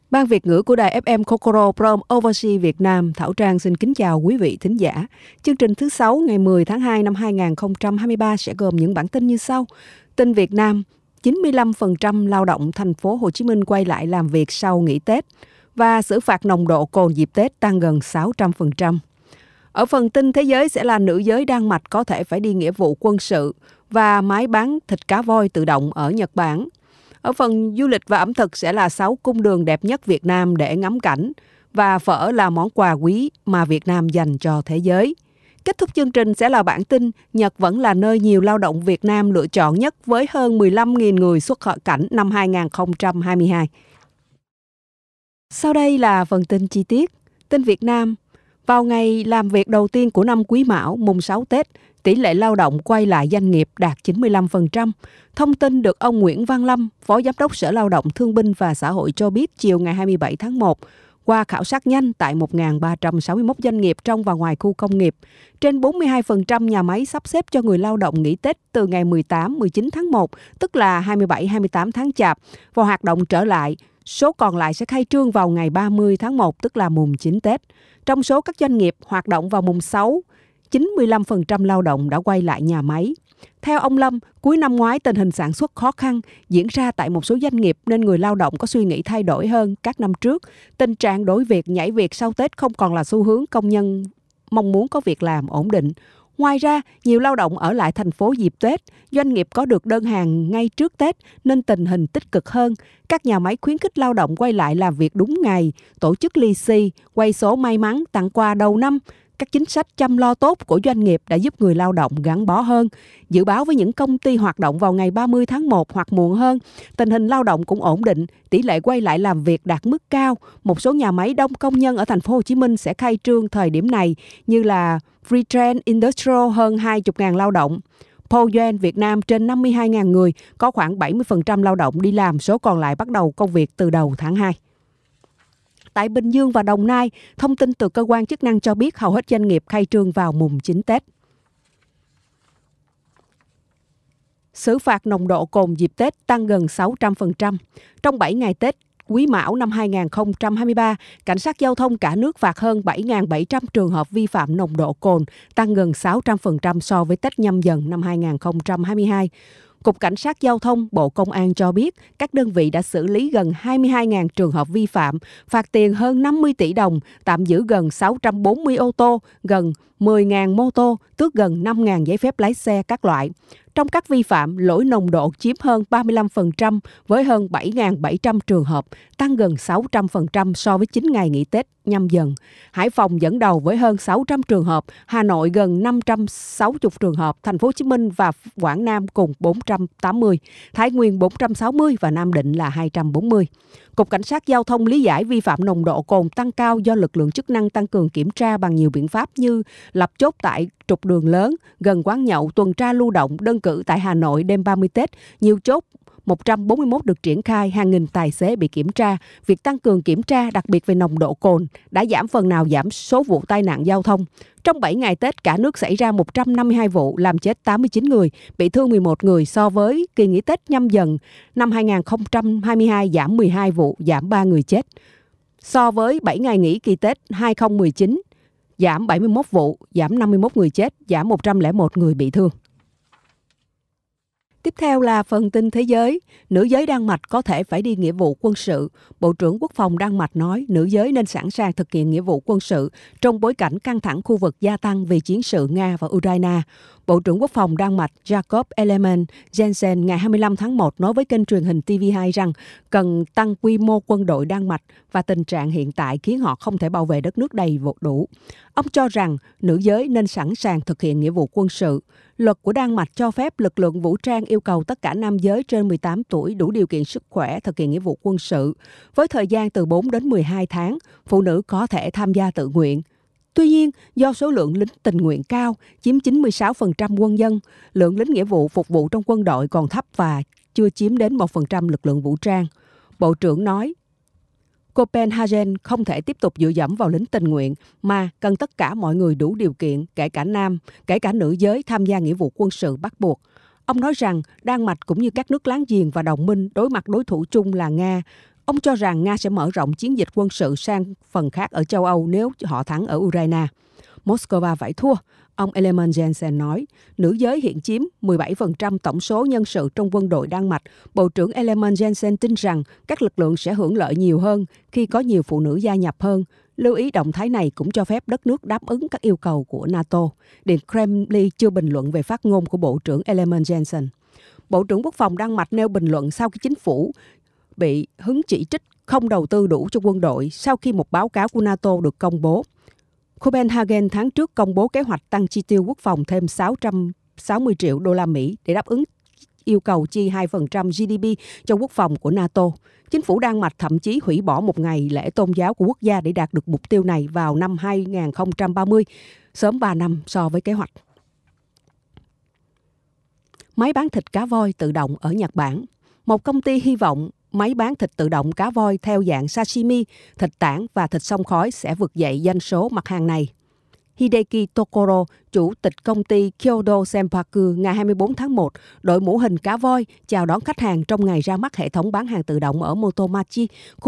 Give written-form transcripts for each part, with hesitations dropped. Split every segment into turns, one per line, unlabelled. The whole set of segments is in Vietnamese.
Ban Việt ngữ của đài FM Kokoro Prom Overseas Việt Nam, Thảo Trang xin kính chào quý vị thính giả. Chương trình thứ 6 ngày 10 tháng 2 năm 2023 sẽ gồm những bản tin như sau. Tin Việt Nam, 95% lao động thành phố Hồ Chí Minh quay lại làm việc sau nghỉ Tết và xử phạt nồng độ cồn dịp Tết tăng gần 600%. Ở phần tin thế giới sẽ là nữ giới Đan Mạch có thể phải đi nghĩa vụ quân sự và máy bán thịt cá voi tự động ở Nhật Bản. Ở phần du lịch và ẩm thực sẽ là 6 cung đường đẹp nhất Việt Nam để ngắm cảnh và phở là món quà quý mà Việt Nam dành cho thế giới. Kết thúc chương trình sẽ là bản tin Nhật vẫn là nơi nhiều lao động Việt Nam lựa chọn nhất với hơn 15.000 người xuất cảnh năm 2022. Sau đây là phần tin chi tiết. Tin Việt Nam. Vào ngày làm việc đầu tiên của năm Quý Mão, mùng 6 Tết, tỷ lệ lao động quay lại doanh nghiệp đạt 95%. Thông tin được ông Nguyễn Văn Lâm, Phó Giám đốc Sở Lao động Thương binh và Xã hội cho biết chiều ngày 27 tháng 1, qua khảo sát nhanh tại 1.361 doanh nghiệp trong và ngoài khu công nghiệp, trên 42% nhà máy sắp xếp cho người lao động nghỉ Tết từ ngày 18-19 tháng 1, tức là 27-28 tháng Chạp, và hoạt động trở lại. Số còn lại sẽ khai trương vào ngày 30 tháng 1, tức là mùng 9 Tết. Trong số các doanh nghiệp hoạt động vào mùng 6, 95% lao động đã quay lại nhà máy. Theo ông Lâm, cuối năm ngoái tình hình sản xuất khó khăn diễn ra tại một số doanh nghiệp nên người lao động có suy nghĩ thay đổi hơn các năm trước. Tình trạng đổi việc, nhảy việc sau Tết không còn là xu hướng công nhân mong muốn có việc làm ổn định. Ngoài ra, nhiều lao động ở lại thành phố dịp Tết, doanh nghiệp có được đơn hàng ngay trước Tết nên tình hình tích cực hơn. Các nhà máy khuyến khích lao động quay lại làm việc đúng ngày, tổ chức lì xì, quay số may mắn, tặng quà đầu năm. Các chính sách chăm lo tốt của doanh nghiệp đã giúp người lao động gắn bó hơn. Dự báo với những công ty hoạt động vào ngày 30 tháng 1 hoặc muộn hơn, tình hình lao động cũng ổn định, tỷ lệ quay lại làm việc đạt mức cao. Một số nhà máy đông công nhân ở thành phố Hồ Chí Minh sẽ khai trương thời điểm này như là Freetrend Industrial hơn 20.000 lao động. Pogen Việt Nam trên 52.000 người, có khoảng 70% lao động đi làm, số còn lại bắt đầu công việc từ đầu tháng 2. Tại Bình Dương và Đồng Nai, thông tin từ cơ quan chức năng cho biết hầu hết doanh nghiệp khai trương vào mùng 9 Tết. Xử phạt nồng độ cồn dịp Tết tăng gần 600%. Trong 7 ngày Tết Quý Mão năm 2023, Cảnh sát giao thông cả nước phạt hơn 7.700 trường hợp vi phạm nồng độ cồn, tăng gần 600% so với Tết Nhâm Dần năm 2022. Cục Cảnh sát Giao thông, Bộ Công an cho biết các đơn vị đã xử lý gần 22.000 trường hợp vi phạm, phạt tiền hơn 50 tỷ đồng, tạm giữ gần 640 ô tô, gần 10.000 mô tô, tước gần 5.000 giấy phép lái xe các loại. Trong các vi phạm, lỗi nồng độ chiếm hơn 35% với hơn 7.700 trường hợp, tăng gần 600% so với 9 ngày nghỉ Tết Nhâm Dần. Hải Phòng dẫn đầu với hơn 600 trường hợp, Hà Nội gần 560 trường hợp, Thành phố Hồ Chí Minh và Quảng Nam cùng 480, Thái Nguyên 460 và Nam Định là 240. Cục Cảnh sát Giao thông lý giải vi phạm nồng độ cồn tăng cao do lực lượng chức năng tăng cường kiểm tra bằng nhiều biện pháp như lập chốt tại trục đường lớn, gần quán nhậu, tuần tra lưu động. Đơn cử tại Hà Nội đêm 30 Tết, nhiều chốt 141 được triển khai, hàng nghìn tài xế bị kiểm tra. Việc tăng cường kiểm tra, đặc biệt về nồng độ cồn, đã giảm phần nào giảm số vụ tai nạn giao thông. Trong 7 ngày Tết, cả nước xảy ra 152 vụ, làm chết 89 người, bị thương 11 người so với kỳ nghỉ Tết Nhâm Dần năm 2022 giảm 12 vụ, giảm 3 người chết. So với 7 ngày nghỉ kỳ Tết 2019, giảm 71 vụ, giảm 51 người chết, giảm 101 người bị thương. Tiếp theo là phần tin thế giới. Nữ giới Đan Mạch có thể phải đi nghĩa vụ quân sự. Bộ trưởng Quốc phòng Đan Mạch nói nữ giới nên sẵn sàng thực hiện nghĩa vụ quân sự trong bối cảnh căng thẳng khu vực gia tăng vì chiến sự Nga và Ukraine. Bộ trưởng Quốc phòng Đan Mạch Jakob Ellemann-Jensen ngày 25 tháng 1 nói với kênh truyền hình TV2 rằng cần tăng quy mô quân đội Đan Mạch và tình trạng hiện tại khiến họ không thể bảo vệ đất nước đầy đủ. Ông cho rằng nữ giới nên sẵn sàng thực hiện nghĩa vụ quân sự. Luật của Đan Mạch cho phép lực lượng vũ trang yêu cầu tất cả nam giới trên 18 tuổi đủ điều kiện sức khỏe thực hiện nghĩa vụ quân sự. Với thời gian từ 4 đến 12 tháng, phụ nữ có thể tham gia tự nguyện. Tuy nhiên, do số lượng lính tình nguyện cao, chiếm 96% quân dân, lượng lính nghĩa vụ phục vụ trong quân đội còn thấp và chưa chiếm đến 1% lực lượng vũ trang. Bộ trưởng nói, Copenhagen không thể tiếp tục dựa dẫm vào lính tình nguyện mà cần tất cả mọi người đủ điều kiện, kể cả nam, kể cả nữ giới tham gia nghĩa vụ quân sự bắt buộc. Ông nói rằng Đan Mạch cũng như các nước láng giềng và đồng minh đối mặt đối thủ chung là Nga, Ông cho rằng Nga sẽ mở rộng chiến dịch quân sự sang phần khác ở châu Âu nếu họ thắng ở Ukraine. Moscow phải thua, ông Ellemann Jensen nói. Nữ giới hiện chiếm 17% tổng số nhân sự trong quân đội Đan Mạch. Bộ trưởng Ellemann Jensen tin rằng các lực lượng sẽ hưởng lợi nhiều hơn khi có nhiều phụ nữ gia nhập hơn. Lưu ý động thái này cũng cho phép đất nước đáp ứng các yêu cầu của NATO. Điện Kremlin chưa bình luận về phát ngôn của Bộ trưởng Ellemann Jensen. Bộ trưởng Quốc phòng Đan Mạch nêu bình luận sau khi chính phủ bị hứng chỉ trích không đầu tư đủ cho quân đội sau khi một báo cáo của NATO được công bố. Copenhagen tháng trước công bố kế hoạch tăng chi tiêu quốc phòng thêm 660 triệu đô la Mỹ để đáp ứng yêu cầu chi 2% GDP cho quốc phòng của NATO. Chính phủ Đan Mạch thậm chí hủy bỏ một ngày lễ tôn giáo của quốc gia để đạt được mục tiêu này vào năm 2030, sớm 3 năm so với kế hoạch. Máy bán thịt cá voi tự động ở Nhật Bản. Một công ty hy vọng máy bán thịt tự động cá voi theo dạng sashimi, thịt tảng và thịt xông khói sẽ vực dậy doanh số mặt hàng này. Hideki Tokoro, chủ tịch công ty Kyodo Senpaku, ngày 24 tháng 1, đội mũ hình cá voi chào đón khách hàng trong ngày ra mắt hệ thống bán hàng tự động ở Motomachi,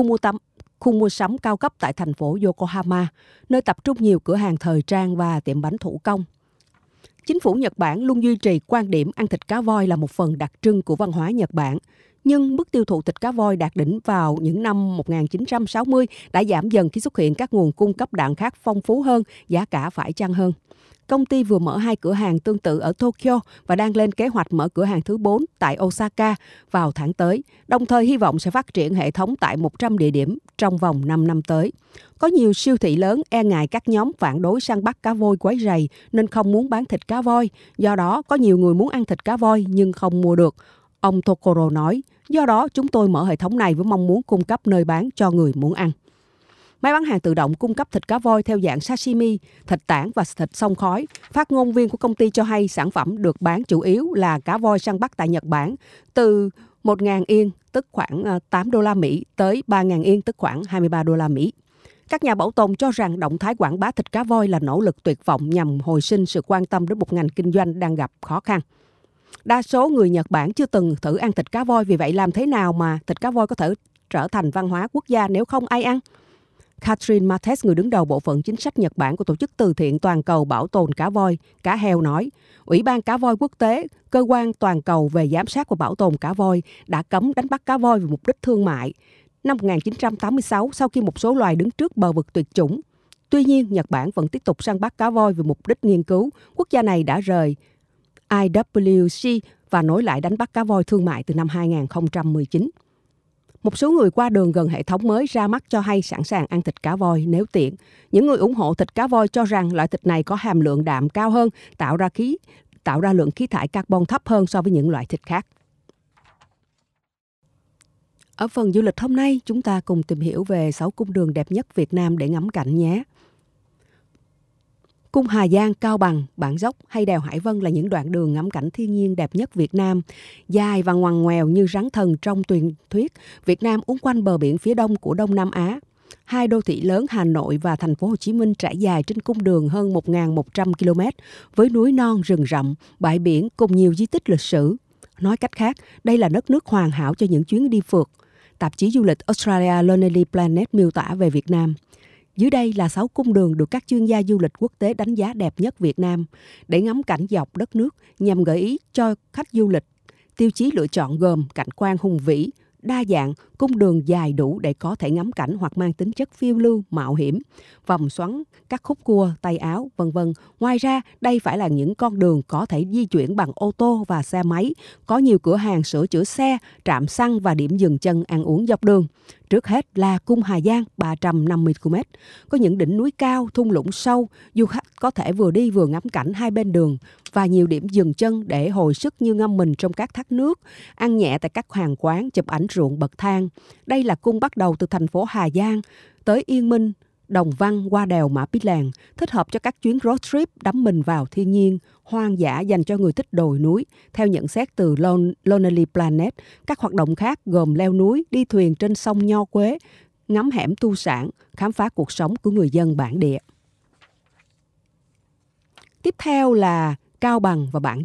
khu mua sắm cao cấp tại thành phố Yokohama, nơi tập trung nhiều cửa hàng thời trang và tiệm bánh thủ công. Chính phủ Nhật Bản luôn duy trì quan điểm ăn thịt cá voi là một phần đặc trưng của văn hóa Nhật Bản. Nhưng mức tiêu thụ thịt cá voi đạt đỉnh vào những năm 1960 đã giảm dần khi xuất hiện các nguồn cung cấp đạm khác phong phú hơn, giá cả phải chăng hơn. Công ty vừa mở 2 cửa hàng tương tự ở Tokyo và đang lên kế hoạch mở cửa hàng thứ 4 tại Osaka vào tháng tới, đồng thời hy vọng sẽ phát triển hệ thống tại 100 địa điểm trong vòng 5 năm tới. Có nhiều siêu thị lớn e ngại các nhóm phản đối săn bắt cá voi quấy rầy nên không muốn bán thịt cá voi. Do đó, có nhiều người muốn ăn thịt cá voi nhưng không mua được. Ông Tokoro nói, do đó chúng tôi mở hệ thống này với mong muốn cung cấp nơi bán cho người muốn ăn. Máy bán hàng tự động cung cấp thịt cá voi theo dạng sashimi, thịt tảng và thịt xông khói. Phát ngôn viên của công ty cho hay sản phẩm được bán chủ yếu là cá voi săn bắt tại Nhật Bản từ 1.000 yên, tức khoảng 8 đô la Mỹ, tới 3.000 yên, tức khoảng 23 đô la Mỹ. Các nhà bảo tồn cho rằng động thái quảng bá thịt cá voi là nỗ lực tuyệt vọng nhằm hồi sinh sự quan tâm đến một ngành kinh doanh đang gặp khó khăn. Đa số người Nhật Bản chưa từng thử ăn thịt cá voi, vì vậy làm thế nào mà thịt cá voi có thể trở thành văn hóa quốc gia nếu không ai ăn? Catherine Mattes, người đứng đầu bộ phận chính sách Nhật Bản của Tổ chức Từ thiện Toàn cầu Bảo tồn cá voi, cá heo nói, Ủy ban Cá voi Quốc tế, cơ quan toàn cầu về giám sát và bảo tồn cá voi, đã cấm đánh bắt cá voi vì mục đích thương mại năm 1986 sau khi một số loài đứng trước bờ vực tuyệt chủng. Tuy nhiên, Nhật Bản vẫn tiếp tục săn bắt cá voi vì mục đích nghiên cứu. Quốc gia này đã rời IWC và nối lại đánh bắt cá voi thương mại từ năm 2019. Một số người qua đường gần hệ thống mới ra mắt cho hay sẵn sàng ăn thịt cá voi nếu tiện. Những người ủng hộ thịt cá voi cho rằng loại thịt này có hàm lượng đạm cao hơn, tạo ra lượng khí thải carbon thấp hơn so với những loại thịt khác. Ở phần du lịch hôm nay, chúng ta cùng tìm hiểu về 6 cung đường đẹp nhất Việt Nam để ngắm cảnh nhé. Cung Hà Giang, Cao Bằng, Bản Dốc hay đèo Hải Vân là những đoạn đường ngắm cảnh thiên nhiên đẹp nhất Việt Nam. Dài và ngoằn ngoèo như rắn thần trong truyền thuyết, Việt Nam uốn quanh bờ biển phía đông của Đông Nam Á. Hai đô thị lớn Hà Nội và thành phố Hồ Chí Minh trải dài trên cung đường hơn 1.100 km với núi non, rừng rậm, bãi biển cùng nhiều di tích lịch sử. Nói cách khác, đây là đất nước hoàn hảo cho những chuyến đi phượt. Tạp chí du lịch Australia Lonely Planet miêu tả về Việt Nam. Dưới đây là 6 cung đường được các chuyên gia du lịch quốc tế đánh giá đẹp nhất Việt Nam để ngắm cảnh dọc đất nước, nhằm gợi ý cho khách du lịch. Tiêu chí lựa chọn gồm cảnh quan hùng vĩ, đa dạng, cung đường dài đủ để có thể ngắm cảnh hoặc mang tính chất phiêu lưu, mạo hiểm, vòng xoắn, các khúc cua, tay áo, v.v. Ngoài ra, đây phải là những con đường có thể di chuyển bằng ô tô và xe máy, có nhiều cửa hàng sửa chữa xe, trạm xăng và điểm dừng chân ăn uống dọc đường. Trước hết là cung Hà Giang 350 km, có những đỉnh núi cao, thung lũng sâu, du khách có thể vừa đi vừa ngắm cảnh hai bên đường và nhiều điểm dừng chân để hồi sức như ngâm mình trong các thác nước, ăn nhẹ tại các hàng quán, chụp ảnh ruộng bậc thang. Đây là cung bắt đầu từ thành phố Hà Giang tới Yên Minh, Đồng Văn qua đèo Mã Pí Lèng, thích hợp cho các chuyến road trip đắm mình vào thiên nhiên, hoang dã dành cho người thích đồi núi. Theo nhận xét từ Lonely Planet, các hoạt động khác gồm leo núi, đi thuyền trên sông Nho Quế, ngắm hẻm tu sản, khám phá cuộc sống của người dân bản địa. Tiếp theo là Cao Bằng và Bản Dốc,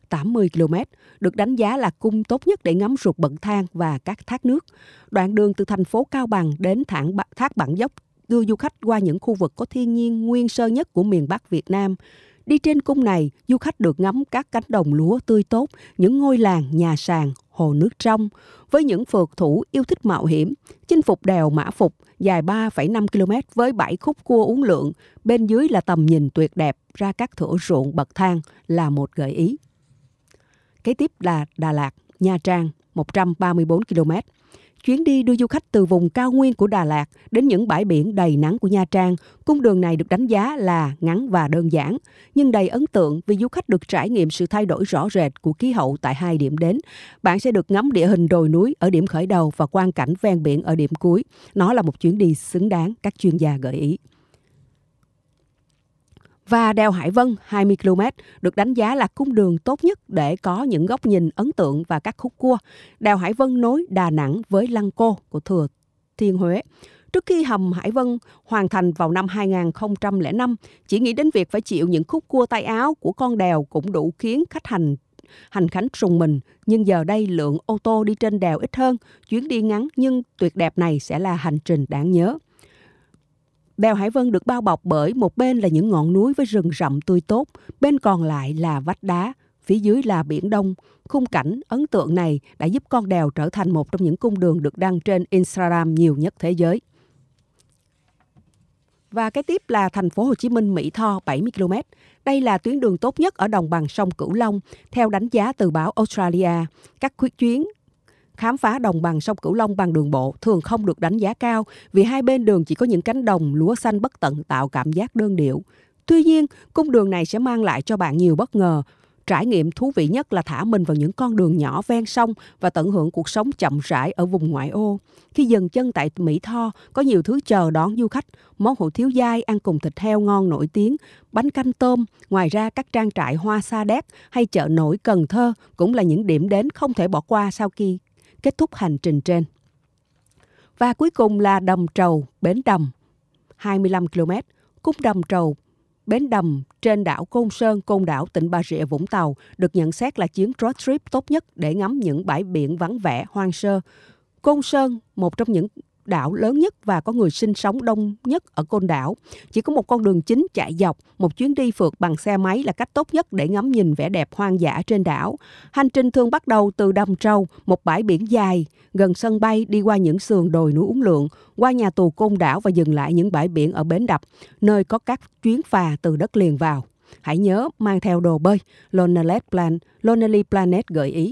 80 km, được đánh giá là cung tốt nhất để ngắm ruột bậc thang và các thác nước. Đoạn đường từ thành phố Cao Bằng đến thác Bản Dốc đưa du khách qua những khu vực có thiên nhiên nguyên sơ nhất của miền Bắc Việt Nam. Đi trên cung này, du khách được ngắm các cánh đồng lúa tươi tốt, những ngôi làng, nhà sàn, hồ nước trong. Với những phượt thủ yêu thích mạo hiểm, chinh phục đèo Mã Phục dài 3,5 km với 7 khúc cua uốn lượn, bên dưới là tầm nhìn tuyệt đẹp ra các thửa ruộng bậc thang là một gợi ý. Kế tiếp là Đà Lạt, Nha Trang, 134 km. Chuyến đi đưa du khách từ vùng cao nguyên của Đà Lạt đến những bãi biển đầy nắng của Nha Trang. Cung đường này được đánh giá là ngắn và đơn giản, nhưng đầy ấn tượng vì du khách được trải nghiệm sự thay đổi rõ rệt của khí hậu tại 2 điểm đến. Bạn sẽ được ngắm địa hình đồi núi ở điểm khởi đầu và quang cảnh ven biển ở điểm cuối. Nó là một chuyến đi xứng đáng, các chuyên gia gợi ý. Và đèo Hải Vân 20 km được đánh giá là cung đường tốt nhất để có những góc nhìn ấn tượng và các khúc cua. Đèo Hải Vân nối Đà Nẵng với Lăng Cô của Thừa Thiên Huế. Trước khi hầm Hải Vân hoàn thành vào năm 2005, chỉ nghĩ đến việc phải chịu những khúc cua tay áo của con đèo cũng đủ khiến khách hành khánh rùng mình. Nhưng giờ đây lượng ô tô đi trên đèo ít hơn, chuyến đi ngắn nhưng tuyệt đẹp này sẽ là hành trình đáng nhớ. Đèo Hải Vân được bao bọc bởi một bên là những ngọn núi với rừng rậm tươi tốt, bên còn lại là vách đá, phía dưới là Biển Đông. Khung cảnh ấn tượng này đã giúp con đèo trở thành một trong những cung đường được đăng trên Instagram nhiều nhất thế giới. Và cái tiếp là thành phố Hồ Chí Minh Mỹ Tho 70 km. Đây là tuyến đường tốt nhất ở đồng bằng sông Cửu Long, theo đánh giá từ báo Australia. Các chuyến khám phá đồng bằng sông Cửu Long bằng đường bộ thường không được đánh giá cao vì hai bên đường chỉ có những cánh đồng lúa xanh bất tận tạo cảm giác đơn điệu. Tuy nhiên, cung đường này sẽ mang lại cho bạn nhiều bất ngờ. Trải nghiệm thú vị nhất là thả mình vào những con đường nhỏ ven sông và tận hưởng cuộc sống chậm rãi ở vùng ngoại ô. Khi dừng chân tại Mỹ Tho, có nhiều thứ chờ đón du khách. Món hủ tiếu dai ăn cùng thịt heo ngon nổi tiếng, bánh canh tôm. Ngoài ra, các trang trại hoa sa đéc hay chợ nổi Cần Thơ cũng là những điểm đến không thể bỏ qua sau khi kết thúc hành trình trên. Và cuối cùng là Đầm Trầu, Bến Đầm, 25 km. Cung Đầm Trầu, Bến Đầm trên đảo Côn Sơn, Côn Đảo, tỉnh Bà Rịa Vũng Tàu được nhận xét là chuyến road trip tốt nhất để ngắm những bãi biển vắng vẻ, hoang sơ. Côn Sơn, một trong những đảo lớn nhất và có người sinh sống đông nhất ở Côn Đảo. Chỉ có một con đường chính chạy dọc, một chuyến đi phượt bằng xe máy là cách tốt nhất để ngắm nhìn vẻ đẹp hoang dã trên đảo. Hành trình thường bắt đầu từ Đầm Trầu, một bãi biển dài, gần sân bay, đi qua những sườn đồi núi uốn lượn, qua nhà tù Côn Đảo và dừng lại những bãi biển ở Bến Đập, nơi có các chuyến phà từ đất liền vào. Hãy nhớ mang theo đồ bơi, Lonely Planet gợi ý.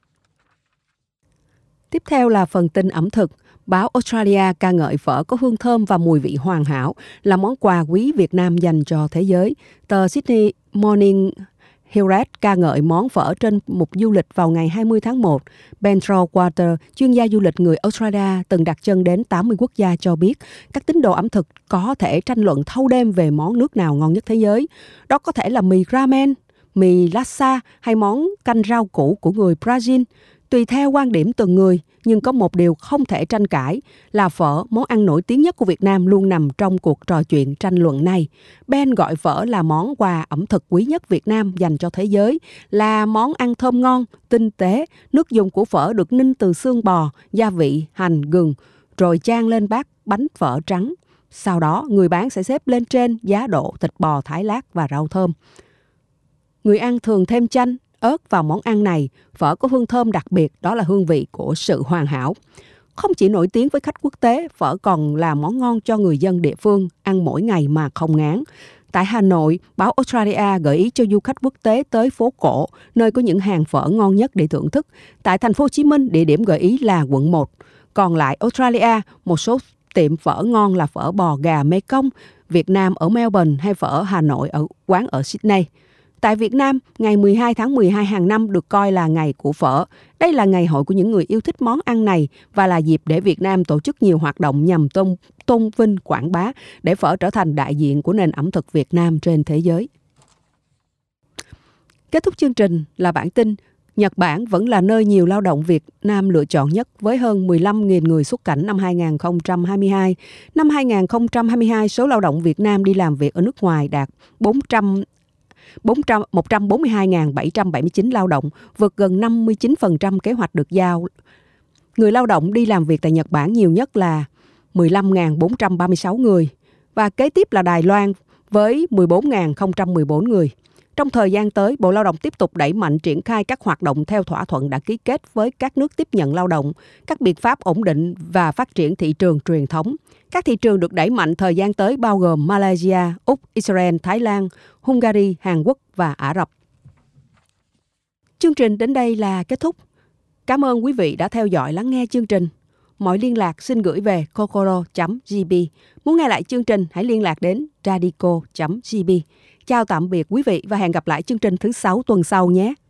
Tiếp theo là phần tin ẩm thực. Báo Australia ca ngợi phở có hương thơm và mùi vị hoàn hảo là món quà quý Việt Nam dành cho thế giới. Tờ Sydney Morning Herald ca ngợi món phở trên mục du lịch vào ngày 20 tháng 1. Ben Trowater, chuyên gia du lịch người Australia từng đặt chân đến 80 quốc gia cho biết các tín đồ ẩm thực có thể tranh luận thâu đêm về món nước nào ngon nhất thế giới. Đó có thể là mì ramen, mì laksa hay món canh rau củ của người Brazil. Tùy theo quan điểm từng người, nhưng có một điều không thể tranh cãi là phở, món ăn nổi tiếng nhất của Việt Nam, luôn nằm trong cuộc trò chuyện tranh luận này. Ben gọi phở là món quà ẩm thực quý nhất Việt Nam dành cho thế giới, là món ăn thơm ngon, tinh tế. Nước dùng của phở được ninh từ xương bò, gia vị, hành, gừng, rồi chan lên bát bánh phở trắng. Sau đó, người bán sẽ xếp lên trên giá đỗ thịt bò thái lát và rau thơm. Người ăn thường thêm chanh, ớt vào món ăn này. Phở có hương thơm đặc biệt, đó là hương vị của sự hoàn hảo. Không chỉ nổi tiếng với khách quốc tế, phở còn là món ngon cho người dân địa phương, ăn mỗi ngày mà không ngán. Tại Hà Nội, báo Australia gợi ý cho du khách quốc tế tới phố cổ, nơi có những hàng phở ngon nhất để thưởng thức. Tại thành phố Hồ Chí Minh, địa điểm gợi ý là quận 1. Còn lại Australia, một số tiệm phở ngon là phở bò gà Mekong, Việt Nam ở Melbourne hay phở Hà Nội ở quán ở Sydney. Tại Việt Nam, ngày 12 tháng 12 hàng năm được coi là ngày của phở. Đây là ngày hội của những người yêu thích món ăn này và là dịp để Việt Nam tổ chức nhiều hoạt động nhằm tôn vinh quảng bá để phở trở thành đại diện của nền ẩm thực Việt Nam trên thế giới. Kết thúc chương trình là bản tin Nhật Bản vẫn là nơi nhiều lao động Việt Nam lựa chọn nhất với hơn 15.000 người xuất cảnh năm 2022. Năm 2022, số lao động Việt Nam đi làm việc ở nước ngoài đạt 142.779 lao động, vượt gần 59% kế hoạch được giao. Người lao động đi làm việc tại Nhật Bản nhiều nhất là 15.436 người và kế tiếp là Đài Loan với 14.014 người. Trong thời gian tới, Bộ Lao động tiếp tục đẩy mạnh triển khai các hoạt động theo thỏa thuận đã ký kết với các nước tiếp nhận lao động, các biện pháp ổn định và phát triển thị trường truyền thống. Các thị trường được đẩy mạnh thời gian tới bao gồm Malaysia, Úc, Israel, Thái Lan, Hungary, Hàn Quốc và Ả Rập. Chương trình đến đây là kết thúc. Cảm ơn quý vị đã theo dõi lắng nghe chương trình. Mọi liên lạc xin gửi về kokoro.gb. Muốn nghe lại chương trình, hãy liên lạc đến radico.gb. Chào tạm biệt quý vị và hẹn gặp lại chương trình thứ 6 tuần sau nhé.